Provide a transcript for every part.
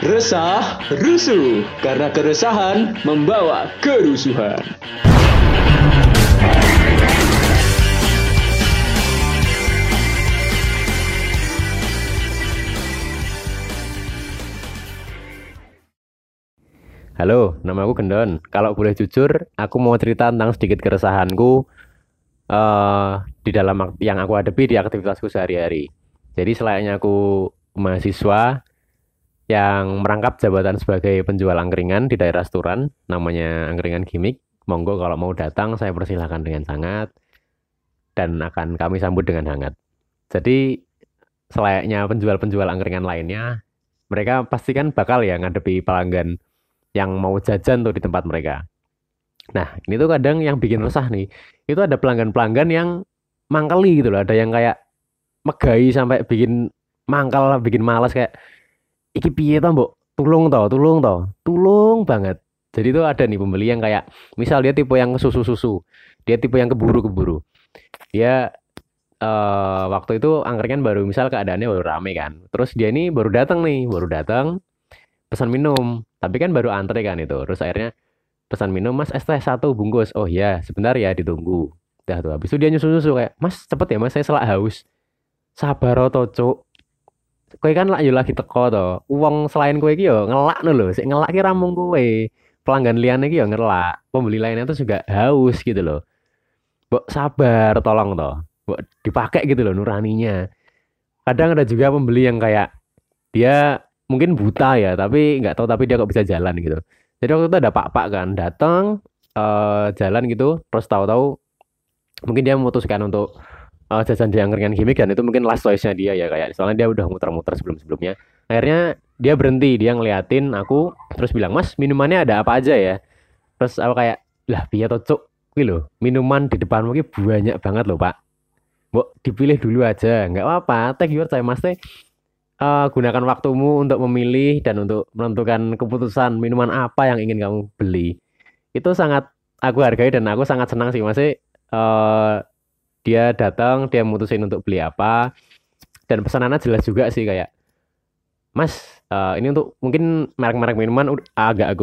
Resah, rusuh, karena keresahan membawa kerusuhan. Halo, nama aku Gendon. Kalau boleh jujur, aku mau cerita tentang sedikit keresahanku di dalam yang aku hadapi di aktivitasku sehari-hari. Jadi selayaknya aku mahasiswa yang merangkap jabatan sebagai penjual angkringan di daerah Sturan, namanya Angkringan Gimik. Monggo kalau mau datang, saya persilahkan dengan sangat dan akan kami sambut dengan hangat. Jadi selayaknya penjual-penjual angkringan lainnya, mereka pasti kan bakal ya ngadepi pelanggan yang mau jajan tuh di tempat mereka. Nah, ini tuh kadang yang bikin resah nih. Itu ada pelanggan-pelanggan yang mangkeli gitu loh. Ada yang kayak megai sampai bikin mangkal, bikin malas kayak iki piye to, Mbok? Tulung to. Tulung banget. Jadi tuh ada nih pembeli yang kayak misal dia tipe yang susu-susu. Dia tipe yang keburu-keburu. Dia waktu itu angkringan baru misal keadaannya baru rame kan. Terus dia ini baru datang pesan minum. Tapi kan baru antre kan itu. Terus akhirnya pesan minum, Mas es teh 1 bungkus. Oh iya, sebentar ya ditunggu. Udah tuh habis itu dia nyusu-nyusu kayak, Mas cepet ya Mas, saya selak haus. Sabar to, Cuk. Kowe kan lak yo lagi teko to. Uang selain kowe iki yo ngelak no lho. Sik ngelak ki ra mung kowe. Pelanggan liane iki yo ngelak. Pembeli lainnya tuh juga haus gitu loh. Mbok sabar tolong to. Mbok dipakai gitu loh nuraninya. Kadang ada juga pembeli yang kayak dia mungkin buta ya, tapi nggak tahu tapi dia kok bisa jalan gitu. Jadi waktu itu ada pak-pak kan datang jalan gitu, terus tahu-tahu mungkin dia memutuskan untuk jajan di angkringan gimmick dan itu mungkin last choice-nya dia ya kayak soalnya dia udah muter-muter sebelum-sebelumnya. Akhirnya dia berhenti, dia ngeliatin aku terus bilang, "Mas, minumannya ada apa aja ya?" Terus aku kayak, "Lah, piye to, Cuk? Kuwi lho, minuman di depanmu ki banyak banget loh, Pak. Mbok dipilih dulu aja, nggak apa-apa. Take your time, Mas teh. Gunakan waktumu untuk memilih dan untuk menentukan keputusan minuman apa yang ingin kamu beli. Itu sangat aku hargai dan aku sangat senang sih masih dia datang, dia mutusin untuk beli apa dan pesanannya jelas juga sih kayak Mas, ini untuk mungkin merek-merek minuman agak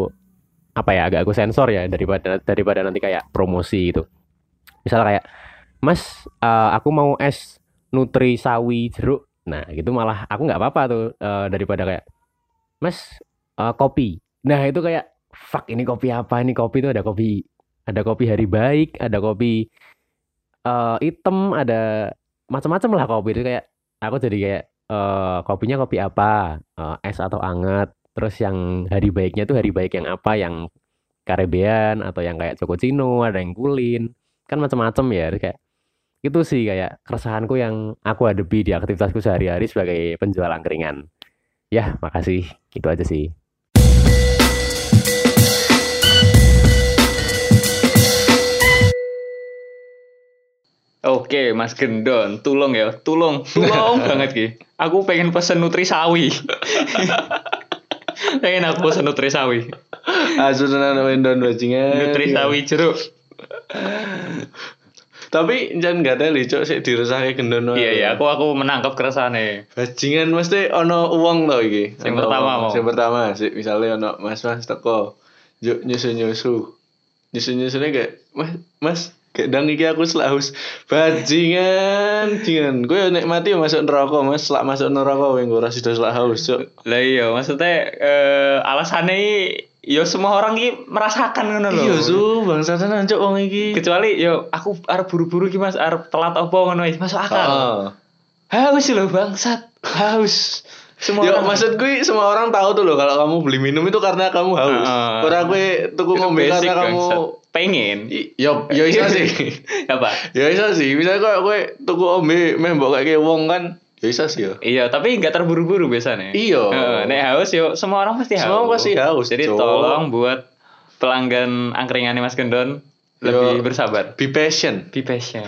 aku sensor ya daripada nanti kayak promosi itu. Misal kayak Mas, aku mau es Nutri Sawi jeruk. Nah, gitu malah aku nggak apa-apa tuh daripada kayak Mas, kopi. Nah, itu kayak fuck ini kopi apa? Ini kopi itu ada kopi Hari Baik, ada kopi hitam, ada macam-macam lah kopi itu kayak aku jadi kayak kopinya kopi apa? Es atau anget. Terus yang Hari Baiknya tuh Hari Baik yang apa? Yang Caribbean atau yang kayak Cococino, ada yang Kulin. Kan macam-macam ya. Terus kayak itu sih kayak keresahanku yang aku hadapi di aktivitasku sehari-hari sebagai penjual angkringan. Ya, makasih. Itu aja sih. Oke, Mas Gendon, tulung banget ki. Aku pengen pesen Nutrisawi. Pengen aku pesen Nutrisawi. Asunan Wendon bajingan. Nutrisawi jeruk. Tapi jangan gak ada cok sik diresahke Gendon wae. Iya, aku menangkap keresahane. Bajingan mesti ono uang to iki. Yang pertama mau. Yang pertama sik misale ono mas-mas teko. Juk nyusu-nyusu. Nyusu-nyusune kayak Mas kayak dang iki aku selak haus. Bajingan. Kowe nek mati masuk neraka, Mas. Selak masuk neraka kowe ora sida selak haus, cok. Lah iya, maksudnya alasannya yo semua orang iki merasakan ngono lho. Iya su, bangsa tenan cok wong iki. Kecuali yo aku arep buru-buru ki Mas, arep telat apa ngono iki masuk akal. Haus lho bangsat. Haus. Semua yo, orang maksud gue semua orang tahu tuh loh kalau kamu beli minum itu karena kamu haus. Ora kowe tuku ngombe karena kamu pengen. Yo iso sih. Apa? Ya iso sih. Misalnya kowe tuku ombe meh mbok kayak wong kan ya iso sih yo. Iya, tapi enggak terburu-buru biasanya. Iya. Nek haus yo semua orang pasti haus. Semua pasti haus. Jadi tolong buat pelanggan angkringannya Mas Gendon lebih bersabar. Be patient. Be patient.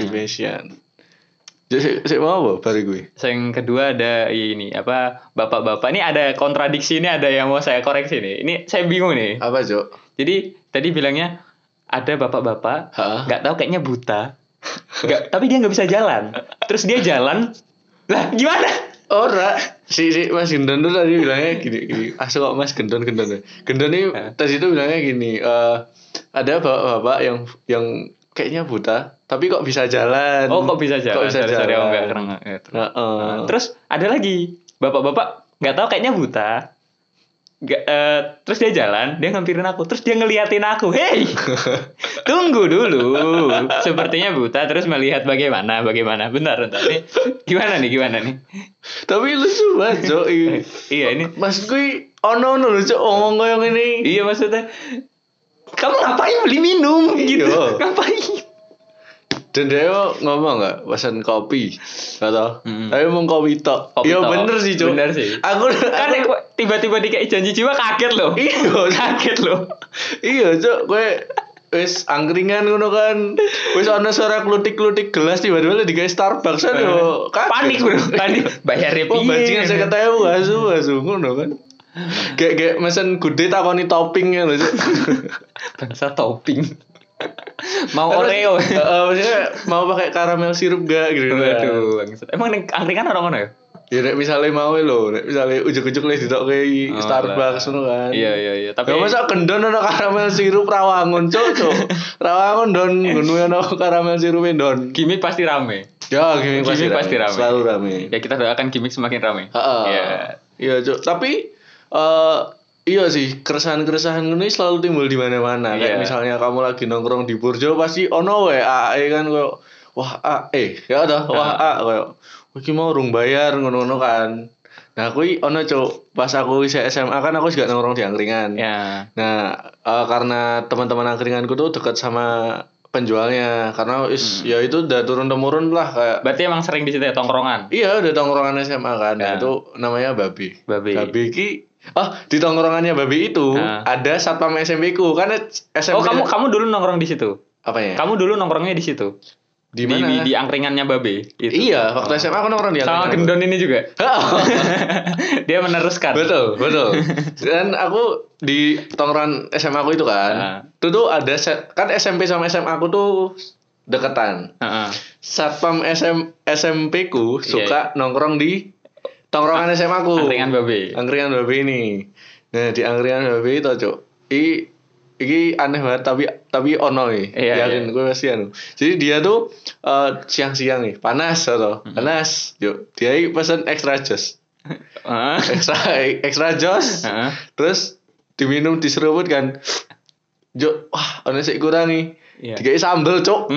Jadi mau apa bari gue? Yang kedua ada ini apa bapak-bapak ini ada kontradiksi ini ada yang mau saya koreksi nih. Ini saya bingung nih. Apa, Cok? Jadi tadi bilangnya ada bapak-bapak nggak tahu kayaknya buta. Tapi dia nggak bisa jalan. Terus dia jalan. Lah gimana? Ora, si Mas Gendon tuh tadi bilangnya gini. Asal kok Mas Gendon. Gendon ini tadi itu bilangnya gini, ada bapak-bapak yang kayaknya buta, tapi kok bisa jalan. Oh, kok bisa jalan? Sorry, aku nggak keren. Terus ada lagi bapak-bapak nggak tahu kayaknya buta. Terus dia jalan, dia ngampirin aku, terus dia ngeliatin aku, hey, tunggu dulu, sepertinya buta, terus melihat bagaimana, bentar, nih, gimana nih? Tapi lucu banget, Cok. Iya ini, Mas kui ono lho, Cok, ngomong koyo ngene. Iya maksudnya, kamu ngapain beli minum gitu, ngapain? Dan dia ngomong nggak pesan kopi, nggak tau. Tapi ngomong kopi tok. Iya bener sih, Cok. Bener sih. Aku tiba-tiba dikasih janji jiwa kaget loh. Iya, Cok. Gue wis angkringan ngono kan. Wis ana suara klutik-klutik gelas tiba-tiba dikasih Starbucks kan yo. Panik, Bro. Panik. Bayarnya piye? Oh, bajingan 50.000 asu ngono kan. Kayak mesen gede takoni toppingnya lho, Cok. Bangsa topping. Mau Oreo. Maksudnya mau pakai karamel sirup gak gitu. Waduh, emang angkringan orang mana ya? Ya nek misale mau lho, nek misale ujuk-ujuk le ditokke Starbucks ngono kan. Iya. Tapi masa gendon ana karamel sirup Rawangun, Cok. Rawangun don ngono ana karamel sirup don. Gimik pasti rame. Ya, gimik pasti rame. Selalu rame. Ya kita doakan gimik semakin rame. Iya. Iya, Cok. Tapi iya sih, keresahan-keresahan ini selalu timbul di mana-mana. Kayak misalnya kamu lagi nongkrong di Burjo pasti ono WA kan koyo wah ya toh, wah koyo iki mau rung bayar ngono-ngono kan. Nah, kuwi ono, Cuk. Pas aku isih SMA kan aku juga nongkrong di angkringan. Ya. Nah, karena teman-teman angkringanku tuh dekat sama penjualnya karena ya itu udah turun temurun lah kayak. Berarti emang sering di situ ya tongkrongan? Iya, udah tongkrongan SMA kan. Nah, itu namanya Babi ki di tongkrongannya Babi itu ada satpam SMP ku kan SMP. Oh, kamu dulu nongkrong di situ. Apanya? Kamu dulu nongkrongnya di situ. Di mana? Di angkringannya Babe. Itu. Iya, waktu SMA aku nongkrong di angkringan. Sama Gendon ini juga. Dia meneruskan. Betul. Dan aku di tongkrongan SMA aku itu kan. Itu tuh ada kan SMP sama SMA aku tuh deketan. Satpam SMP ku suka nongkrong di tongkrongan SMA aku. Angkringan Babe ini. Nah, di angkringan Babe itu, Cuk. Iki aneh banget tapi ono nih. Yakin gue pasti anu. Jadi dia tuh siang-siang nih, panas atau panas. Yuk, dia pesen extra jos. Extra jos. Terus diminum diseruput kan. Yuk, wah, ono sik kurang nih. Dikai sambel, Cuk.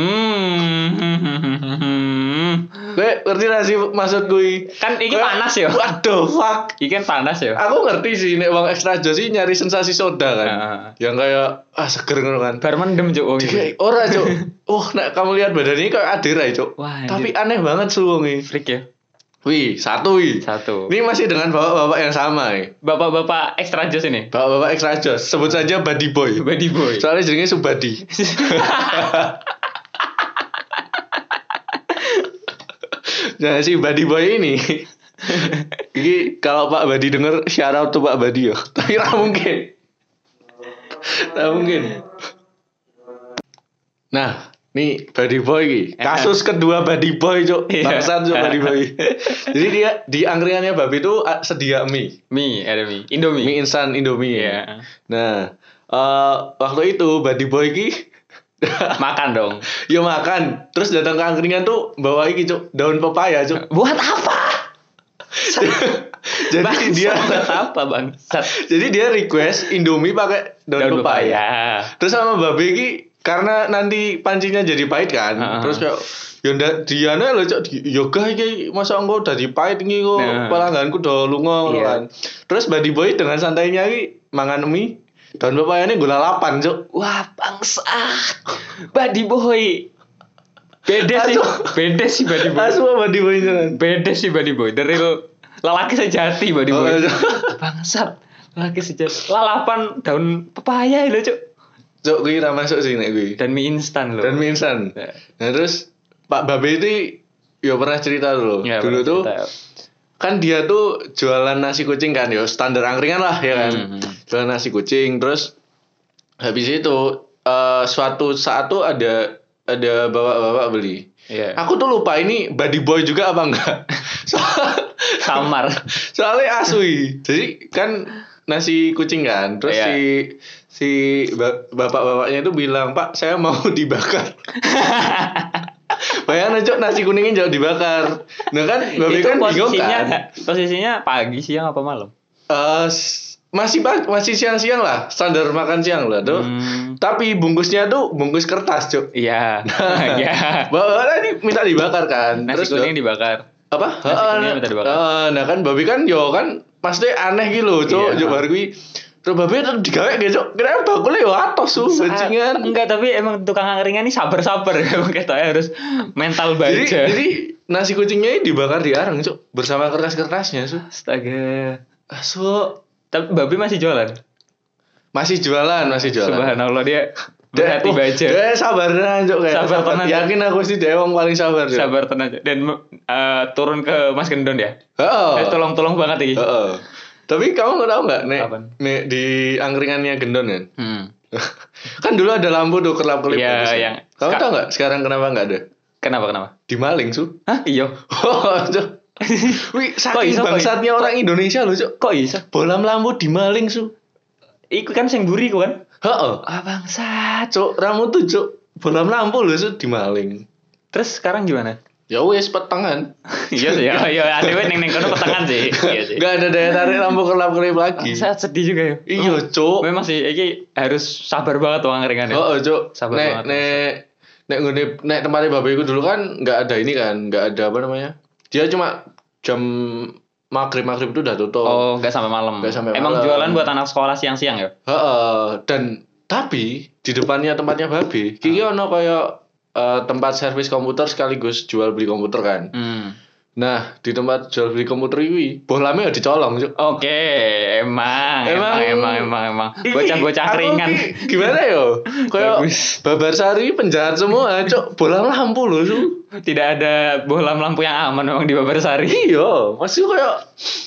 Gue ngerti gak sih maksud gue? Kan ini panas ya. Waduh, fuck. Ini kan panas ya. Aku ngerti sih nek wong extra jos sih nyari sensasi soda kan. Yang kayak seger ngono kan. Bar mendem, Cuk. Ora, Cuk. Nek kamu lihat badannya kayak Adira, Cuk. Tapi aneh banget suwunge. Freak ya. Satu. Ini masih dengan bapak-bapak yang sama nih. Bapak-bapak extra jos ini. Bapak-bapak extra jos. Sebut saja Buddy Boy. Soalnya jenenge Subadi. Nah, si Buddy Boy ini kalau Pak Badi denger shout out to Pak Badi yo. Tapi ra mungkin. Nah, nih Buddy Boy iki. Kasus kedua Buddy Boy, Cuk. Bangsat Cuk Buddy Boy. Jadi dia di angkringannya Babi itu sedia mie. Ada mie. Indomie. Mie instan Indomie. Yeah. Nah, waktu itu Buddy Boy iki makan dong. Ya makan. Terus datang ke angkringan tuh bawa iki, Cuk, daun pepaya, Cuk. Buat apa? Jadi dia buat apa, Bang? Jadi dia request Indomie pakai daun pepaya. Terus sama Babe iki karena nanti pancinya jadi pahit kan. Terus kayak ya ndak diane lho, Cuk, yoga iki masa engko dadi pahit iki kok pelangganku do lunga kan. Terus Buddy Boy dengan santainya iki mangan mie daun pepayane gula 8, Cuk. Wah, bangsat. Buddy Boy. Beda sih Buddy Boy. Buddy Boy jalan. Beda sih Buddy Boy. Dari lelaki sejati Buddy Boy. Bangsat. Lelaki sejati. Lalapan daun pepaya lho, Cuk. Cuk, kuwi ra masuk sih nek kuwi. Dan mie instan lho. Nah, terus Pak Babe itu ya pernah cerita dulu. Ya, dulu tuh kan dia tuh jualan nasi kucing kan, ya standar angkringan lah ya kan. Jualan nasi kucing, terus habis itu suatu saat tuh ada bapak-bapak beli. Aku tuh lupa ini Buddy Boy juga apa enggak. Samar. Soalnya asui. Jadi kan nasi kucing kan. Terus Iya. si bapak-bapaknya itu bilang, "Pak, saya mau dibakar." Bayangin aja nasi kuningnya jangan dibakar. Nah kan babi Itu kan bingung kan. posisinya pagi, siang apa malam? Masih siang-siang lah, standar makan siang lah tuh. Tapi bungkusnya tuh bungkus kertas, Cuk. Iya. Iya. Bapak tadi minta dibakar kan. Nasi Terus kuning dibakar. apa? Nasi kuningnya minta dibakar. Nah kan babi kan yo kan pasti aneh gitu loh, Cuk. Iya. Cuk baru kuwi. Terus babi tetep digawe gitu, Cuk. Kenapa bakule yo atos su bajingan. Enggak, tapi emang tukang angkringan ini sabar-sabar. Emang katanya harus mental baja. Jadi nasi kucingnya ini dibakar di arang, Cuk, bersama kertas-kertasnya, su. Astaga. Asu. Tapi babi masih jualan. Masih jualan. Subhanallah, dia berhati baja. Dia sabar Cuk, kayak. Sabar tenan. Yakin aku sih dia wong paling sabar, Cuk. Sabar tenang. Dan turun ke Mas Gendon ya. Heeh. Tolong-tolong banget ini. Heeh. Tapi kamu tahu nggak, Apaan? Nek di angkringannya Gendon kan? Kan dulu ada lampu tuh kelap-kelip. Iya, bagus ya. yang- Kamu tahu nggak sekarang kenapa nggak ada? Kenapa? Dimaling, su. Hah? Iya. Oh, Cuk. Wih, saking iso, kok bangsatnya orang Indonesia loh, Cuk. Kok bisa? Bolam lampu dimaling, su. Iku kan sing buri ku kan. Heeh. Ah bangsat. Cuk, ramu tuh, Cuk. Bolam lampu loh, su, dimaling. Terus sekarang gimana? Ya wes petengan. Iya sih, ya adewe ning kono petengan sih. Iya sih. Gak ada daya tarik lampu kelap-kelip lagi. Saya sedih juga ya. Iya, Cuk. Memang sih iki harus sabar banget tuh angkringan ya. Oh, Cuk. Sabar nek banget. nek tempatnya babeku dulu kan nggak ada ini kan, nggak ada apa namanya. Dia cuma jam maghrib itu udah tutup. Oh, enggak sampai malam. Nggak sampai Emang malam. jualan buat anak sekolah siang-siang ya? Heeh. Dan tapi di depannya tempatnya babe, kiki ono kayak tempat servis komputer sekaligus jual beli komputer kan. Nah, di tempat jual beli komputer ini, bolamnya udah dicolong, Cuk. Oke, emang. Bocah-bocah Aku keringan. ki gimana yo? Kayak Bagus. Babarsari penjahat semua, Cuk. Bolam lampu loh, Su. Tidak ada bohlam lampu yang aman memang di Babarsari. Iya, maksudnya kayak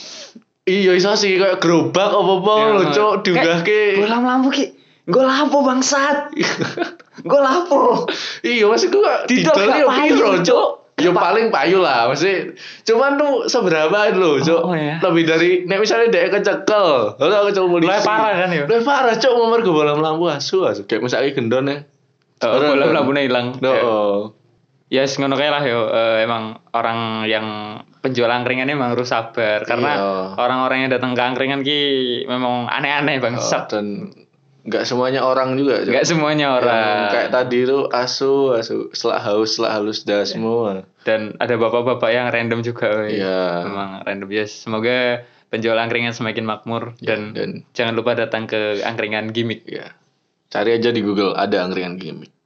iya iso sih kayak gerobak apa-apa lho, Cuk, diunggahke. Bohlam lampu ki. Gue lapo bangsat. Gue lapo. Iya, maksudku kok Didol didolnya gak payu, piro, Cuk. Cuk? Ya paling payu lah, maksudnya cuman tuh seberapa lho, Cuk. Oh, iya. Lebih dari nek misalnya dia kecekel, lalu kecekel polisi. Lebih parah kan, ya? Lebih parah, Cuk, nomor gue bolam lampu asu. Kayak misalnya gendon ya. Bohlam lampunya hilang. Oh. Ya ngono kae lah yo. Emang orang yang penjual angkringan emang harus sabar karena Iya. orang-orang yang datang ke angkringan ki memang aneh-aneh bangsat. Dan nggak semuanya orang juga, Cuk. Enggak semuanya Yang orang. kayak tadi tuh asu selak halus dah semua. Dan ada bapak-bapak yang random juga. Woy. Iya. Memang random ya. Semoga penjual angkringan semakin makmur Ya, dan jangan lupa datang ke angkringan gimmick. Ya. Cari aja di Google ada angkringan gimmick.